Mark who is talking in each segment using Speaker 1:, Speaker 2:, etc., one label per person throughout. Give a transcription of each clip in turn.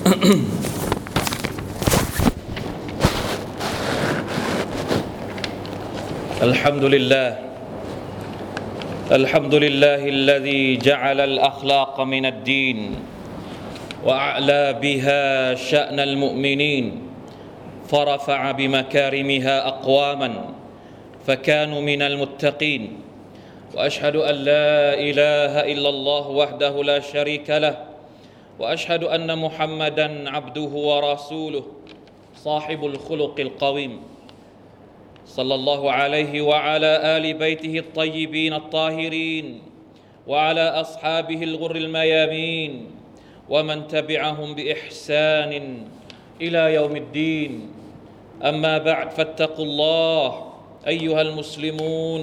Speaker 1: الحمد لله الحمد لله الذي جعل الأخلاق من الدين وأعلى بها شأن المؤمنين فرفع بمكارمها أقواما فكانوا من المتقين وأشهد أن لا إله إلا الله وحده لا شريك له وأشهد أن محمدًا عبده ورسوله صاحب الخلق القويم صلى الله عليه وعلى آل بيته الطيبين الطاهرين وعلى أصحابه الغر الميامين ومن تبعهم بإحسان إلى يوم الدين أما بعد فاتقوا الله أيها المسلمون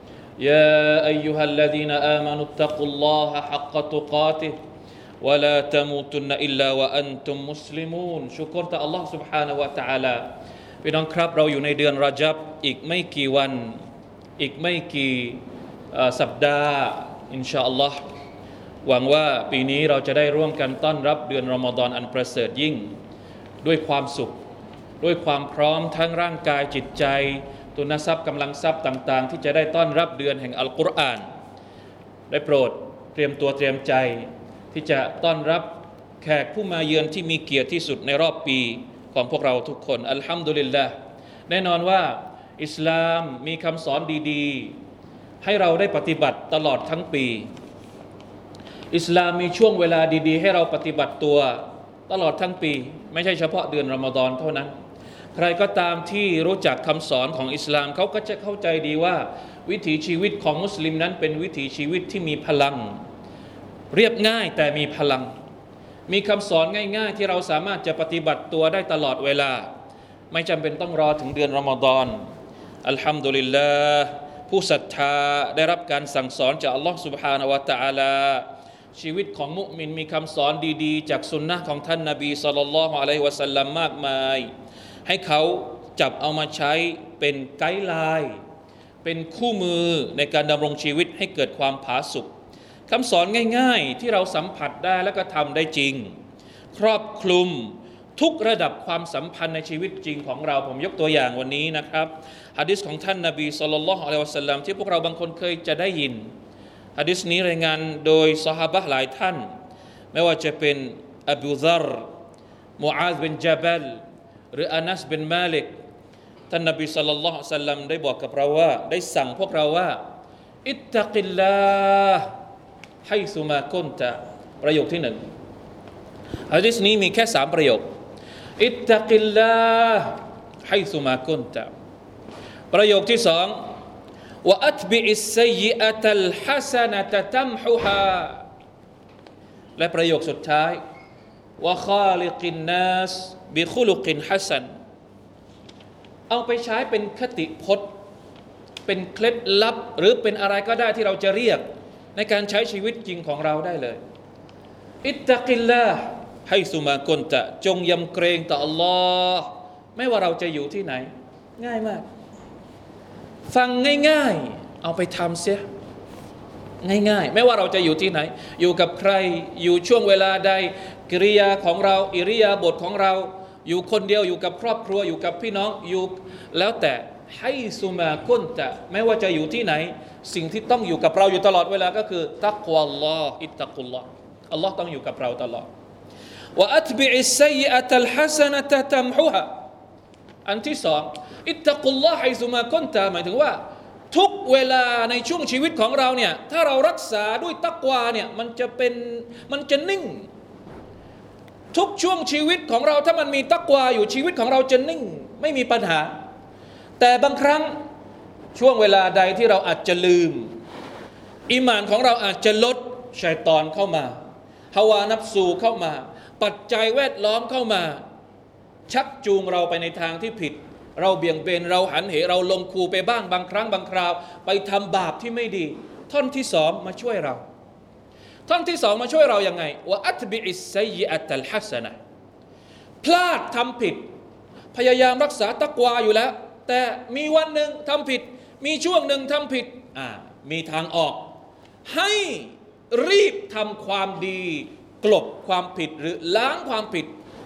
Speaker 1: يا أيها الذين آمنوا اتقوا الله حق تقاته ولا تموتن إلا وأنتم مسلمون شكرต่อ Allah سبحانه และ تعالى พี่น้องครับเราอยู่ในเดือนรอญับอีกไม่กี่วันอีกไม่กี่สัปดาห์อินชาอัลลอฮ์หวังว่าปีนี้เราจะได้ร่วมกันต้อนรับเดือนรอมฎอนอันประเสริฐยิ่งด้วยความสุขด้วยความพร้อมทั้งร่างกายจิตใจทุนทรัพย์กำลังทรัพย์ต่างๆที่จะได้ต้อนรับเดือนแห่งอัลกุรอานได้โปรดเตรียมตัวเตรียมใจที่จะต้อนรับแขกผู้มาเยือนที่มีเกียรติที่สุดในรอบปีของพวกเราทุกคนอัลฮัมดุลิลลาห์แน่นอนว่าอิสลามมีคำสอนดีๆให้เราได้ปฏิบัติตลอดทั้งปีอิสลามมีช่วงเวลาดีๆให้เราปฏิบัติตัวตลอดทั้งปีไม่ใช่เฉพาะเดือนรอมฎอนเท่านั้นใครก็ตามที่รู้จักคำสอนของอิสลามเขาก็จะเข้าใจดีว่าวิถีชีวิตของมุสลิมนั้นเป็นวิถีชีวิตที่มีพลังเรียบง่ายแต่มีพลังมีคำสอนง่ายๆที่เราสามารถจะปฏิบัติตัวได้ตลอดเวลาไม่จำเป็นต้องรอถึงเดือนรอมฎอนอัลฮัมดุลิลลาห์ผู้ศรัทธาได้รับการสั่งสอนจากอัลลอฮฺ سبحانه และ تعالى ชีวิตของมุมินมีคำสอนดีๆจากสุนนะของท่านนบีศ็อลลัลลอฮุอะลัยฮิวะซัลลัมมากมายให้เขาจับเอามาใช้เป็นไกด์ไลน์เป็นคู่มือในการดำรงชีวิตให้เกิดความผาสุกคำสอนง่ายๆที่เราสัมผัสได้และก็ทำได้จริงครอบคลุมทุกระดับความสัมพันธ์ในชีวิตจริงของเราผมยกตัวอย่างวันนี้นะครับหะดีษของท่านนบีศ็อลลัลลอฮุอะลัยฮิวะซัลลัมที่พวกเราบางคนเคยจะได้ยินหะดีษนี้รายงานโดยซอฮาบะห์หลายท่านไม่ว่าจะเป็นอบูซัรมูอาซบินญะบัลหรืออานัสบินมาลิกท่านนบีศ็อลลัลลอฮุอะลัยฮิวะซัลลัมได้บอกกับเราว่าได้สั่งพวกเราว่าอิตตักิลลาห์ไฮซุมากุนตะประโยคที่หนึ่งหะดีษนี้มีแค่3ประโยคอิตตักิลลาห์ไฮซุมากุนตะประโยคที่2วะอัตบิอิสซัยยิอะตัลฮะซะนะตะตัมฮุฮาและประโยคสุดท้ายวะคาลิกินนัสบิคุลุกินฮัสซันเอาไปใช้เป็นคติพจน์เป็นเคล็ดลับหรือเป็นอะไรก็ได้ที่เราจะเรียกในการใช้ชีวิตจริงของเราได้เลยอิตตักิลลาห์ไฮซุมากุนตะจงยำเกรงต่ออัลลอฮ์ไม่ว่าเราจะอยู่ที่ไหนง่ายมากฟังง่ายๆเอาไปทำเสียง่ายๆไม่ว่าเราจะอยู่ที่ไหนอยู่กับใครอยู่ช่วงเวลาใดกิริยาของเราอิริยาบถของเราอยู่คนเดียวอยู่กับครอบครัวอยู่กับพี่น้องอยู่แล้วแต่ให้ซุมากุนตะไม่ว่าจะอยู่ที่ไหนสิ่งที่ต้องอยู่กับเราอยู่ตลอดเวลาก็คือตักวะอัลลอฮ์อิตตักุลลอฮ์อัลลอฮ์ต้องอยู่กับเราตลอดวะอัตบิอิสซัยยิอะตัลฮะซะนะตะตัมฮุฮาอันที่สองอิตตักุลลอฮ์ไฮซุมากุนตะหมายถึงว่าทุกเวลาในช่วงชีวิตของเราเนี่ยถ้าเรารักษาด้วยตักวาเนี่ยมันจะนิ่งทุกช่วงชีวิตของเราถ้ามันมีตักวาอยู่ชีวิตของเราจะนิ่งไม่มีปัญหาแต่บางครั้งช่วงเวลาใดที่เราอาจจะลืมอีหม่านของเราอาจจะลดชัยฏอนเข้ามาฮาวานัฟซูเข้ามาปัจจัยแวดล้อมเข้ามาชักจูงเราไปในทางที่ผิดเราเบี่ยงเบนเราหันเหเราลงคูไปบ้างบางครั้งบางคราวไปทำบาปที่ไม่ดีท่อนที่2มาช่วยเราท่อนที่2มาช่วยเรายังไงวะอัตบิอิสซัยยิอะตัลฮะซะนะพลาดทำผิดพยายามรักษาตักวาอยู่แล้วแต่มีวันหนึ่งทำผิดมีช่วงหนึ่งทำผิดมีทางออกให้รีบทำความดีกลบความผิดหรือล้างความผิด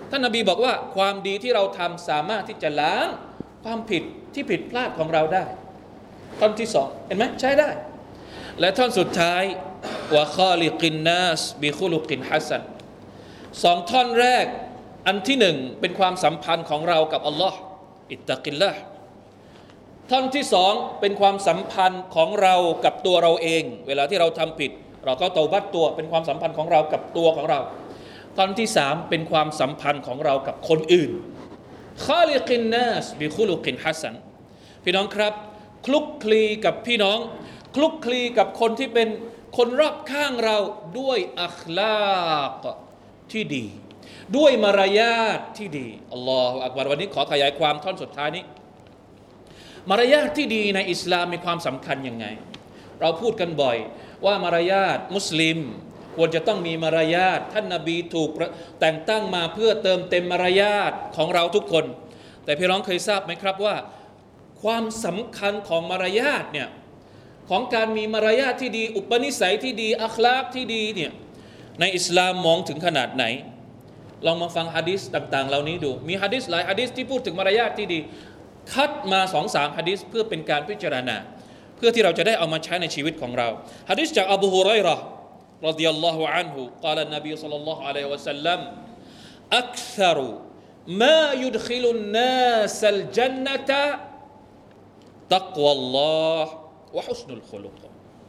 Speaker 1: ท่านนบีบอกว่าความดีที่เราทำสามารถที่จะล้างความผิดที่ผิดพลาดของเราได้ท่อนที่สองเห็นไหมใช้ได้และท่อนสุดท้ายวะคอลิกินนัสบิคุลุกินฮัสซันสองท่อนแรกอันที่หนึ่งเป็นความสัมพันธ์ของเรากับอัลลอฮ์อิตตะกิลละห์ท่อนที่สองเป็นความสัมพันธ์ของเรากับตัวเราเองเวลาที่เราทำผิดเราก็เตาบัตตัวเป็นความสัมพันธ์ของเรากับตัวของเราตอนที่สามเป็นความสัมพันธ์ของเรากับคนอื่นคอลิกินนัสบิคุลุกินฮัสซันพี่น้องครับคลุกคลีกับพี่น้องคลุกคลีกับคนที่เป็นคนรอบข้างเราด้วยอัคลากที่ดีด้วยมารยาทที่ดีอัลลอฮฺอักบัรวันนี้ขอขยายความท่อนสุดท้ายนี้มารยาทที่ดีในอิสลามมีความสำคัญยังไงเราพูดกันบ่อยว่ามารยาทมุสลิมควรจะต้องมีมารยาทท่านนบีถูกแต่งตั้งมาเพื่อเติมเต็มมารยาทของเราทุกคนแต่พี่น้องเคยทราบไหมครับว่าความสำคัญของมารยาทเนี่ยของการมีมารยาทที่ดีอุปนิสัยที่ดีอัคลากที่ดีเนี่ยในอิสลามมองถึงขนาดไหนลองมาฟังหะดีษต่างๆเหล่านี้ดูมีหะดีษหลายหะดีษที่พูดถึงมารยาทที่ดีคัดมา 2-3 หะดีษเพื่อเป็นการพิจารณาเพื่อที่เราจะได้เอามาใช้ในชีวิตของเราหะดีษจากอบูฮุรอยเราะห์รฎิยัลลอฮุอันฮุกล่าวนบีศ็อลลัลลอฮุอะลัยฮิวะซัลลัมอักษรมายุดคิลุนนาสัลญันนะตะตักวัลลอฮ์วะฮุสนุลคุลุก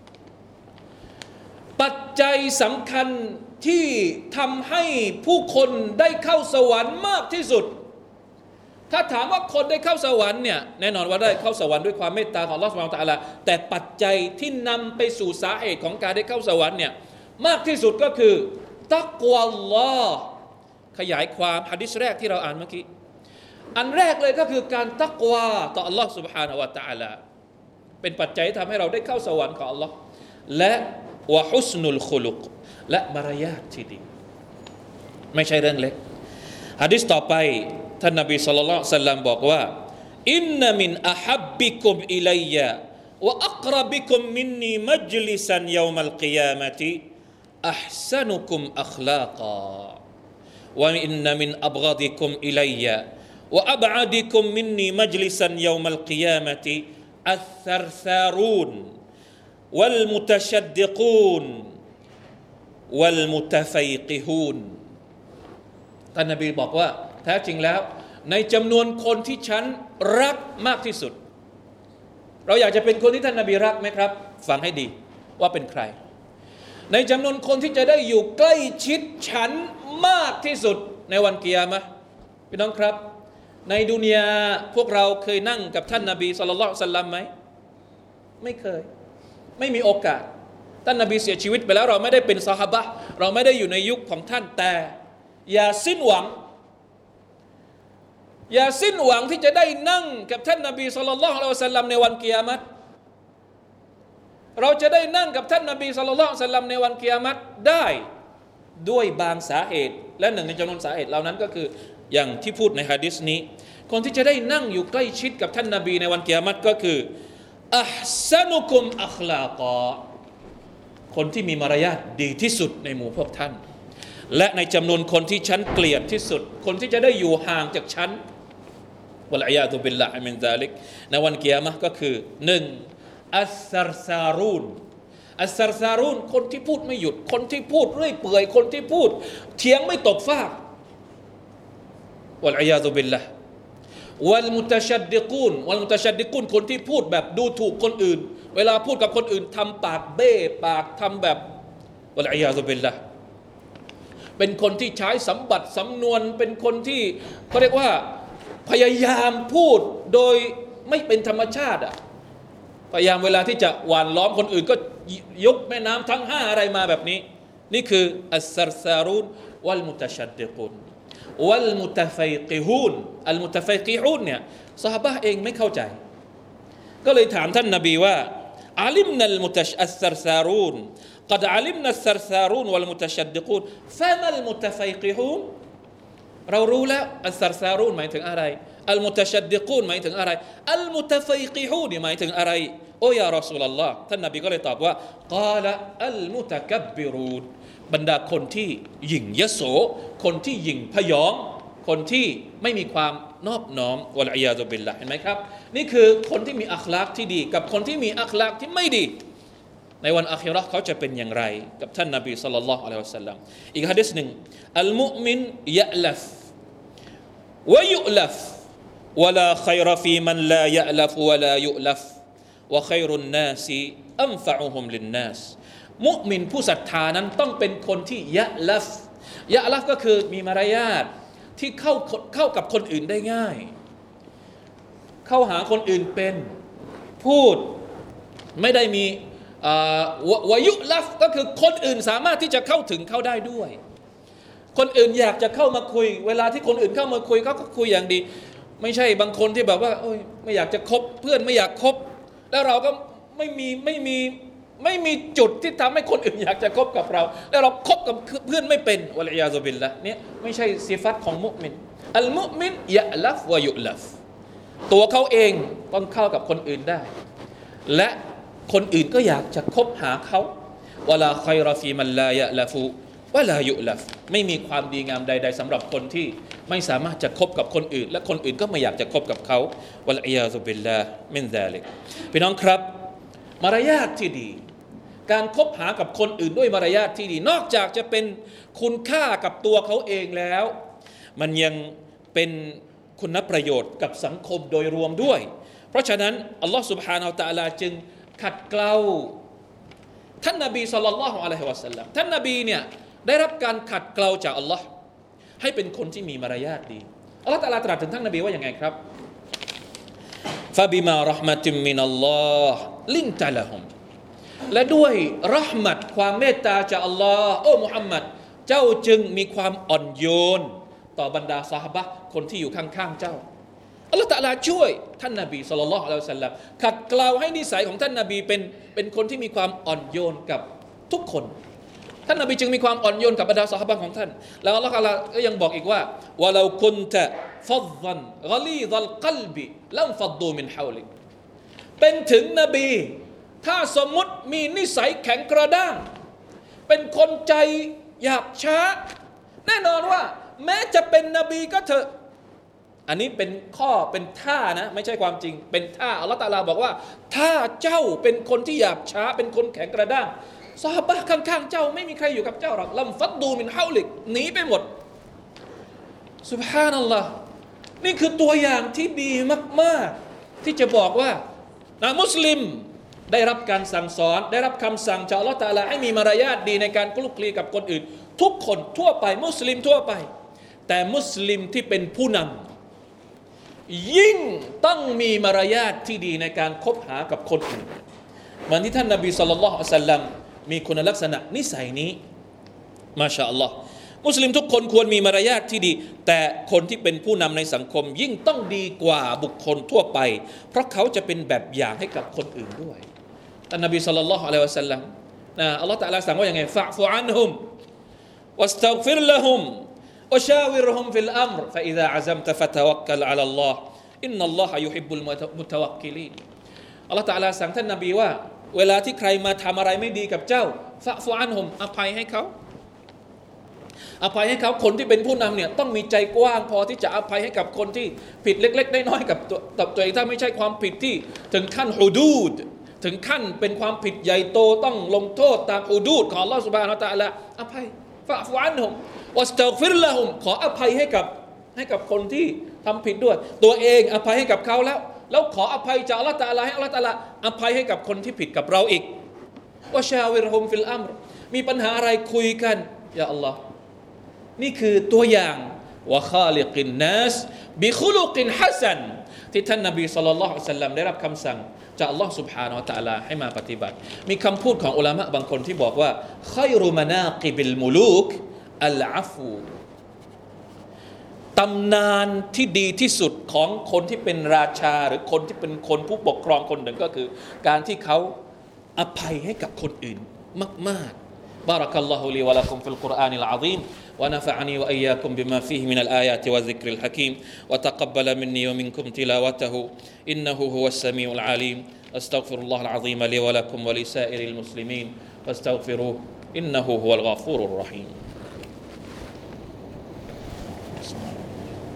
Speaker 1: ปัจจัยสำคัญที่ทำให้ผู้คนได้เข้าสวรรค์มากที่สุดถ้าถามว่าคนได้เข้าสวรรค์เนี่ยแน่นอนว่าได้เข้าสวรรค์ด้วยความเมตตาของอัลเลาะห์ซุบฮานะฮูวะตะอาลาแต่ปัจจัยที่นำไปสู่สาเหตุของการได้เข้าสวรรค์เนี่ยมากที่สุดก็คือตักวัลลอฮ์ขยายความหะดีษแรกที่เราอ่านเมื่อกี้อันแรกเลยก็คือการตักวาต่ออัลเลาะห์ซุบฮานะฮูวะตะอาลาเป็นปัจจัยที่ทำให้เราได้เข้าสวรรค์ของอัลเลาะห์และวะฮุสนุลคุลุกและมารยาทที่ดีไม่ใช่เรื่องเล็กหะดีษต่อไปท่านนบีศ็อลลัลลอฮุอะลัยฮิวะซัลลัมบอกว่าอินนะมินอะฮับบิกุมอิลัยยะวะอักรบิกุมมินนีมัจลิซันยอมัลกิยามะติอัห์ซะนุกุมอัคลากาวะอินนะมินอับฆฎิกุมอิลัยยะวะอับอะดิกุมมินนีมัจลิซันยอมัลกิยามะติอัสซัรซารูนวัลมุตะชัดดิกูนวัลมุตะฟัยกิฮูนท่านนบีบอกว่าแท้จริงแล้วในจำนวนคนที่ฉันรักมากที่สุดเราอยากจะเป็นคนที่ท่านนบีรักไหมครับฟังให้ดีว่าเป็นใครในจำนวนคนที่จะได้อยู่ใกล้ชิดฉันมากที่สุดในวันกิยามะห์พี่น้องครับในดุนยาพวกเราเคยนั่งกับท่านนบีศ็อลลัลลอฮุอะลัยฮิวะซัลลัมไหมไม่เคยไม่มีโอกาสท่านนบีเสียชีวิตไปแล้วเราไม่ได้เป็นซอฮาบะห์เราไม่ได้อยู่ในยุคของท่านแต่อย่าสิ้นหวังที่จะได้นั่งกับท่านนบีศ็อลลัลลอฮุอะลัยฮิวะซัลลัมในวันกิยามะห์เราจะได้นั่งกับท่านนบีศ็อลลัลลอฮุอะลัยฮิวะซัลลัมในวันกิยามะห์ได้ด้วยบางสาเหตุและหนึ่งในจำนวนสาเหตุเหล่านั้นก็คืออย่างที่พูดในหะดีษนี้คนที่จะได้นั่งอยู่ใกล้ชิดกับท่านนบีในวันกิยามะห์ก็คืออัห์ซะนุกุมอัคลากอคนที่มีมารยาทดีที่สุดในหมู่พวกท่านและในจำนวนคนที่ฉันเกลียดที่สุดคนที่จะได้อยู่ห่างจากฉันวะลัยยาตุบิลลาฮิมินซาลิกในวันกิยามะห์ก็คือ1อัสซัรซารูนคนที่พูดไม่หยุดคนที่พูดเรื่อยเปื่อยคนที่พูดเถียงไม่ตกฟากวะลัยยาตุบิลลาฮ์วัลมุตะชัดดิกูนคนที่พูดแบบดูถูกคนอื่นเวลาพูดกับคนอื่นทำปากเบ้ปากทำแบบวะลัยยาตุบิลลาฮ์เป็นคนที่ใช้สำบัดสำนวนเป็นคนที่เขาเรียกว่าพยายามพูดโดยไม่เป็นธรรมชาติพยายามเวลาที่จะหว่านล้อมคนอื่นก็ยกแม่น้ำทั้ง5อะไรมาแบบนี้นี่คืออัสซัรซารูนวัลมุตะชัดดิกูนวัลมุตะฟัยกิฮูนอัลมุตะฟัยกิฮูนเนี่ยซอฮาบะห์เองไม่เข้าใจก็เลยถามท่านนบีว่าอาลิมนัลมุตะอัสซัรซารูนقد علمنا السرسارون والمتشدقون فما المتفيقهون เรารู้แล้วอัสซัรซารูนหมายถึงอะไรอัลมุตะชัดดิกูนหมายถึงอะไรอัลมุตะฟัยกิฮูนหมายถึงอะไรโอ้ยารอซูลุลลอฮ์ท่านนบีก็เลยตอบว่ากาละอัลมุตะกับบบิรูนบรรดาคนที่หยิ่งยโสคนที่หยิ่งพยองคนที่ไม่มีความนอบน้อมวะลัยยาซุบิลละห์เห็นไหมครับนี่คือคนที่มีอัคลากที่ดีกับคนที่มีอัคลากที่ไม่ดีในวันอาคิเราะห์เขาจะเป็นอย่างไรกับท่านนบีศ็อลลัลลอฮุอะลัยฮิวะซัลลัมอีกหะดีษหนึ่งอัลมุอ์มินยะลัฟวะยุลัฟวะลาค็อยรฟีมันลายะลัฟวะลายุลัฟวะค็อยรุนนาสอันฟะอุฮุมลินนาสมุอ์มินผู้ศรัทธานั้นต้องเป็นคนที่ยะลัฟก็คือมีมารยาทที่เข้ากับคนอื่นได้ง่ายเข้าหาคนอื่นเป็นพูดไม่ได้มีวายุลัฟก็คือคนอื่นสามารถที่จะเข้าถึงเขาได้ด้วยคนอื่นอยากจะเข้ามาคุยเวลาที่คนอื่นเข้ามาคุยเขาก็คุยอย่างดีไม่ใช่บางคนที่แบบว่าโอ้ยไม่อยากจะคบเพื่อนไม่อยากคบแล้วเราก็ไม่มีจุดที่ทำให้คนอื่นอยากจะคบกับเราแล้วเราคบกับเพื่อนไม่เป็นวะลัยยาซุบิลละห์เนี่ยไม่ใช่สิฟัตของมุอ์มินอัลมุอ์มินยะลัฟวะยุลัฟตัวเขาเองต้องเข้ากับคนอื่นได้และคนอื่นก็อยากจะคบหาเขาวะลาค็อยรฟีมันลายะลัฟูวะลายุลัฟไม่มีความดีงามใดๆสำหรับคนที่ไม่สามารถจะคบกับคนอื่นและคนอื่นก็ไม่อยากจะคบกับเขาวะลัยยาซุบิลลาห์มินซาลิกพี่น้องครับมารยาทที่ดีการคบหากับคนอื่นด้วยมารยาทที่ดีนอกจากจะเป็นคุณค่ากับตัวเขาเองแล้วมันยังเป็นคุณประโยชน์กับสังคมโดยรวมด้วยเพราะฉะนั้นอัลลอฮฺ سبحانه และ تعالى จึงขัดเกลาท่านนบีศ็อลลัลลอฮุอะลัยฮิวะซัลลัมท่านนบีเนี่ยได้รับการขัดเกลาจากอัลลอฮ์ให้เป็นคนที่มีมารยาทดีอัลลอฮฺตะอาลาตรัสถึงท่านนบีว่าอย่างไงครับฟะบิมาเราะห์มะติมมินัลลอฮ์ลินตะละฮุมและด้วยเราะห์มัตความเมตตาจากอัลลอฮ์โอ้มุฮัมมัดเจ้าจึงมีความอ่อนโยนต่อบรรดาซอฮาบะห์คนที่อยู่ข้างๆเจ้าอัลลอฮฺตะอาลาช่วยท่านนบีศ็อลลัลลอฮุอะลัยฮิวะซัลลัมขัดเกลาให้นิสัยของท่านนบีเป็นคนที่มีความอ่อนโยนกับทุกคนท่านนบีจึงมีความอ่อนโยนกับบรรดาซอฮาบะห์ของท่านแล้วอัลลอฮฺตะอาลาก็ยังบอกอีกว่าวะลากุนตะฟัฎฎันฆะลีฎัลกัลบิลัมฟัดดูมินฮาวลิกเป็นถึงนบีถ้าสมมุติมีนิสัยแข็งกระด้างเป็นคนใจหยาบช้าแน่นอนว่าแม้จะเป็นนบีก็เถอะอันนี้เป็นข้อเป็นท่านะไม่ใช่ความจริงเป็นท่าอัลเลาะห์ตะอาลาบอกว่าถ้าเจ้าเป็นคนที่หยาบช้าเป็นคนแข็งกระด้างซอฮาบะห์ข้างๆเจ้าไม่มีใครอยู่กับเจ้าหรอกลัมฟัดดูมินฮาวลิกหนีไปหมดซุบฮานัลลอฮ์นี่คือตัวอย่างที่ดีมากๆที่จะบอกว่ามุสลิมได้รับการสั่งสอนได้รับคำสั่งจากอัลเลาะห์ตะอาลาให้มีมารยาทดีในการคลุกคลีกับคนอื่นทุกคนทั่วไปมุสลิมทั่วไปแต่มุสลิมที่เป็นผู้นำยิ่งต้องมีมารยาทที่ดีในการคบหากับคนอื่นเหมือนที่ท่านนบีศ็อลลัลลอฮุอะลัยฮิวะซัลลัมมีคุณลักษณะนิสัยนี้มาชาอัลลอฮ์มุสลิมทุกคนควรมีมารยาทที่ดีแต่คนที่เป็นผู้นำในสังคมยิ่งต้องดีกว่าบุคคลทั่วไปเพราะเขาจะเป็นแบบอย่างให้กับคนอื่นด้วยท่านนบีศ็อลลัลลอฮุอะลัยฮิวะซัลลัมอัลลอฮ์ตะอาลาสั่งว่าอย่างไงฟะอ์ฟุอันฮุมวัสตัฆฟิรละฮุมวะชาวิรฮุมฟิลอัมรฟะอิซาอะซัมตะฟะตะวักกัลอะลัลลอฮ์อินนัลลอฮะยุฮิบบุลมุตะวักกิลีนอัลลอฮ์ตะอาลาสั่งท่านนบีว่าเวลาที่ใครมาทำอะไรไม่ดีกับเจ้าฟะอ์ฟุอันฮุมอภัยให้เขาคนที่เป็นผู้นำเนี่ยต้องมีใจกว้างพอที่จะอภัยให้กับคนที่ผิดเล็กๆน้อยๆกับตัวเองถ้าไม่ใช่ความผิดที่ถึงขั้นฮุดูดถึงขั้นเป็นความผิดใหญ่โตต้องลงโทษตามฮุดูดของอัลเลาะห์ซุบฮานะฮูวะตะอาลาอภัยฟะอ์ฟุอันฮุมวัสตัฆฟิรละฮุมขออภัยให้กับคนที่ทำผิดด้วยตัวเองอภัยให้กับเขาแล้วขออภัยจากอัลเลาะห์ตะอาลาให้อัลเลาะห์ตะอาลาอภัยให้กับคนที่ผิดกับเราอีกวะชาวิรฮุมฟิลอัมรมีปัญหาอะไรคุยกันยาอัลลอฮ์นี่คือตัวอย่างวะคาลิกินนัสบิคุลุกินฮัสซันที่ท่านนบีศ็อลลัลลอฮุอะลัยฮิวะซัลลัมได้รับคำสั่งจากอัลลอฮ์ سبحانه และ تعالى ให้มาปฏิบัติมีคำพูดของอุลามะบางคนที่บอกว่าค็อยรุมะนากิบิลมุลูกอัลอะฟูตำนานที่ดีที่สุดของคนที่เป็นราชาหรือคนที่เป็นคนผู้ปกครองคนหนึ่งก็คือการที่เขาอภัยให้กับคนอื่นมากๆ بارك الله لي ولكم في القرآن العظيم ونفعني وإياكم بما فيه من الآيات والذكر الحكيم وتقبل مني ومنكم تلاوته إنه هو السميع العليم أستغفر الله العظيم لي ولكم ولسائر المسلمين فاستغفروه إنه هو الغفور الرحيم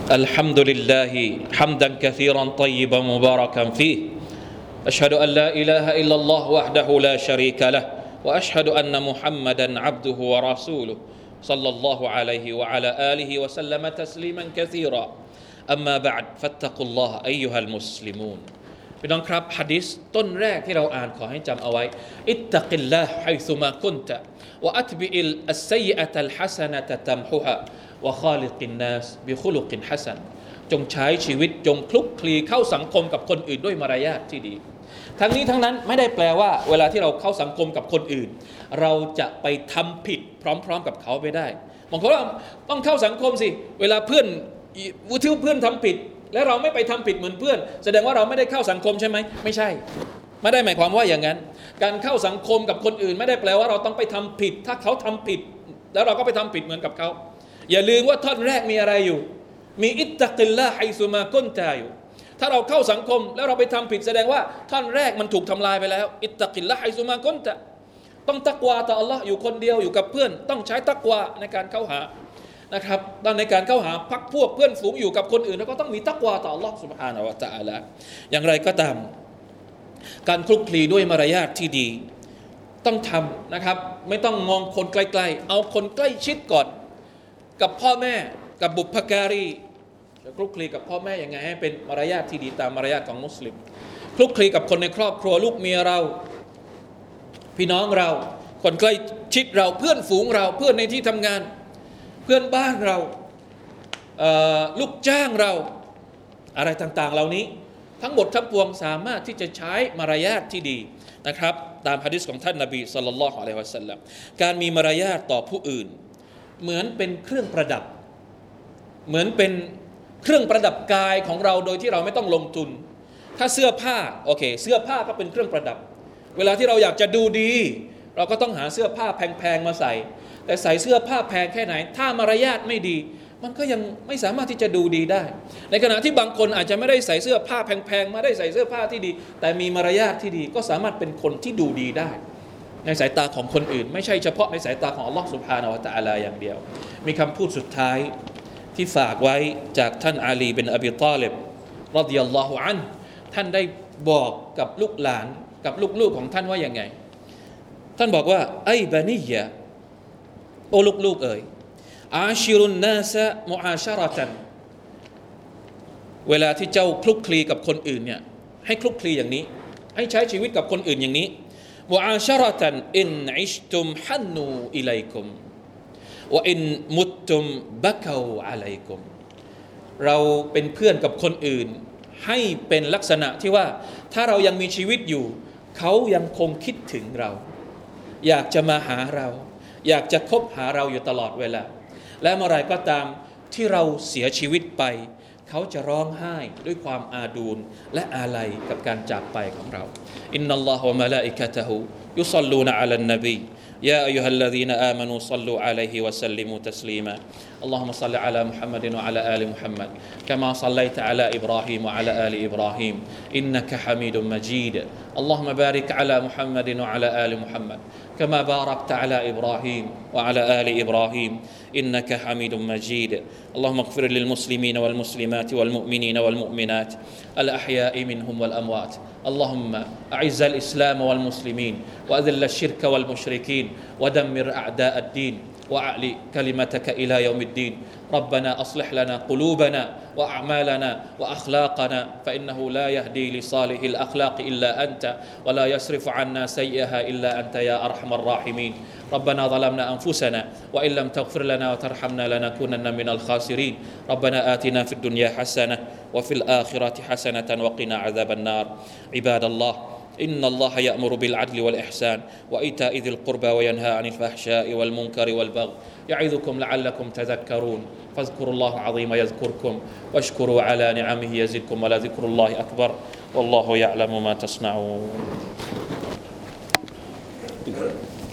Speaker 1: الحمد لله حمدا كثيرا طيبا مباركا فيه أشهد أن لا إله إلا الله وحده لا شريك له وأشهد أن محمدا عبده ورسوله صلى الله عليه وعلى آله وسلم تسليما كثيرا أما بعد فاتقوا الله أيها المسلمون พี่น้องครับหะดีษต้นแรกที่เราอ่านขอให้จำเอาไว้อิตตักิลลาฮ์ไฮซุมากุนตะวะอัตบิอิลอัสซัยอะตัลฮะซะนะตะตัมฮุฮะวะคอลิกินนัสบิคุลุกินฮะซันจงใช้ชีวิตจงคลุกคลีเข้าสังคมกับคนอื่นด้วยมารยาทที่ดีทั้งนี้ทั้งนั้นไม่ได้แปลว่าเวลาที่เราเข้าสังคมกับคนอื่นเราจะไปทำผิดพร้อมๆกับเขาไปได้บางคนว่าต้องเข้าสังคมสิเวลาเพื่อนทำผิดและเราไม่ไปทำผิดเหมือนเพื่อนแสดงว่าเราไม่ได้เข้าสังคมใช่ไหมไม่ใช่ไม่ได้หมายความว่าอย่างนั้นการเข้าสังคมกับคนอื่นไม่ได้แปลว่าเราต้องไปทำผิดถ้าเขาทำผิดแล้วเราก็ไปทำผิดเหมือนกับเขาอย่าลืมว่าท่อนแรกมีอะไรอยู่มีอิตตักิลลาฮ์ไฮซุมากุนตะอยู่ถ้าเราเข้าสังคมแล้วเราไปทำผิดแสดงว่าท่อนแรกมันถูกทำลายไปแล้วอิตตักิลลาฮ์ไฮซุมากุนตะต้องตักวาต่ออัลลอฮ์อยู่คนเดียวอยู่กับเพื่อนต้องใช้ตักวาในการเข้าหานะครับตอนในการเข้าหาพักพวกเพื่อนฝูงอยู่กับคนอื่นแล้วก็ต้องมีตักวาต่ออัลลอฮ์ซุบฮานะฮูวะตะอาลาอย่างไรก็ตามการคลุกคลีด้วยมารยาทที่ดีต้องทำนะครับไม่ต้องมองคนไกลๆเอาคนใกล้ชิดก่อนกับพ่อแม่กับบุพการีจะคลุกคลีกับพ่อแม่ยังไงให้เป็นมารยาทที่ดีตามมารยาทของมุสลิมคลุกคลีกับคนในครอบครัวลูกเมียเราพี่น้องเราคนใกล้ชิดเราเพื่อนฝูงเราเพื่อนในที่ทำงานเพื่อนบ้านเราลูกจ้างเราอะไรต่างๆเหล่านี้ทั้งหมดทั้งปวงสามารถที่จะใช้มารยาทที่ดีนะครับตามหะดีษของท่านนบีศ็อลลัลลอฮุอะลัยฮิวะซัลลัมการมีมารยาทต่อผู้อื่นเหมือนเป็นเครื่องประดับเหมือนเป็นเครื่องประดับกายของเราโดยที่เราไม่ต้องลงทุนถ้าเสื้อผ้าโอเคเสื้อผ้าก็เป็นเครื่องประดับเวลาที่เราอยากจะดูดีเราก็ต้องหาเสื้อผ้าแพงๆมาใส่แต่ใส่เสื้อผ้าแพงแค่ไหนถ้ามารยาทไม่ดีมันก็ยังไม่สามารถที่จะดูดีได้ในขณะที่บางคนอาจจะไม่ได้ใส่เสื้อผ้าแพงๆมาได้ใส่เสื้อผ้าที่ดีแต่มีมารยาทที่ดีก็สามารถเป็นคนที่ดูดีได้ในสายตาของคนอื่นไม่ใช่เฉพาะในสายตาของอัลลอฮฺซุบฮานะฮูวะตะอาลาอย่างเดียวมีคำพูดสุดท้ายที่ฝากไว้จากท่านอาลีบินอบีฏอลิบรอฎิยัลลอฮุอันฮุท่านได้บอกกับลูกหลานกับลูกๆของท่านว่าอย่างไงท่านบอกว่าไอ้บานียะโอ้ลูกๆเอ๋ยอาชิรุนนาสะมุอาชะเราะตันเวลาที่เจ้าคลุกคลีกับคนอื่นเนี่ยให้คลุกคลีอย่างนี้ให้ใช้ชีวิตกับคนอื่นอย่างนี้มุอาชะเราะตันอินอิชตุมฮันนูอิลัยกุมวะอินมุตตุมบะกาวอะลัยกุมเราเป็นเพื่อนกับคนอื่นให้เป็นลักษณะที่ว่าถ้าเรายังมีชีวิตอยู่เขายังคงคิดถึงเราอยากจะมาหาเราอยากจะคบหาเราอยู่ตลอดเวลาและเมื่อไรก็ตามที่เราเสียชีวิตไปเขาจะร้องไห้ด้วยความอาดูลและอาลัยกับการจากไปของเราอินนัลลอฮฺวะมะลาอิกะตะฮูยุศ็อลลูนอะลันนบีيا أيها الذين آمنوا صلوا عليه وسلموا تسليما اللهم صل على محمد وعلى آل محمد كما صليت على إبراهيم وعلى آل إبراهيم إنك حميد مجيد اللهم بارك على محمد وعلى آل محمد كما باركت على إبراهيم وعلى آل إبراهيم إنك حميد مجيد اللهم اغفر للمسلمين والمسلمات والمؤمنين والمؤمنات الأحياء منهم والأموات اللهم أعز الإسلام والمسلمين وأذل الشرك والمشركين ودمر أعداء الدين وأعلي كلمتك إلى يوم الدين ربنا أصلح لنا قلوبنا وأعمالنا وأخلاقنا فإنه لا يهدي لصالح الأخلاق إلا أنت ولا يصرف عنا سيئها إلا أنت يا أرحم الراحمين ربنا ظلمنا أنفسنا وإن لم تغفر لنا وترحمنا لنكونن من الخاسرين ربنا آتنا في الدنيا حسنة وفي الآخرة حسنة وقنا عذاب النار عباد الله إن الله يأمر بالعدل والإحسان وإيتاء ذي القربى وينهى عن الفحشاء والمنكر والبغي يعظكم لعلكم تذكرون فاذكروا الله العظيم يذكركم واشكروا على نعمه يزدكم ولذكر الله أكبر والله يعلم ما تصنعون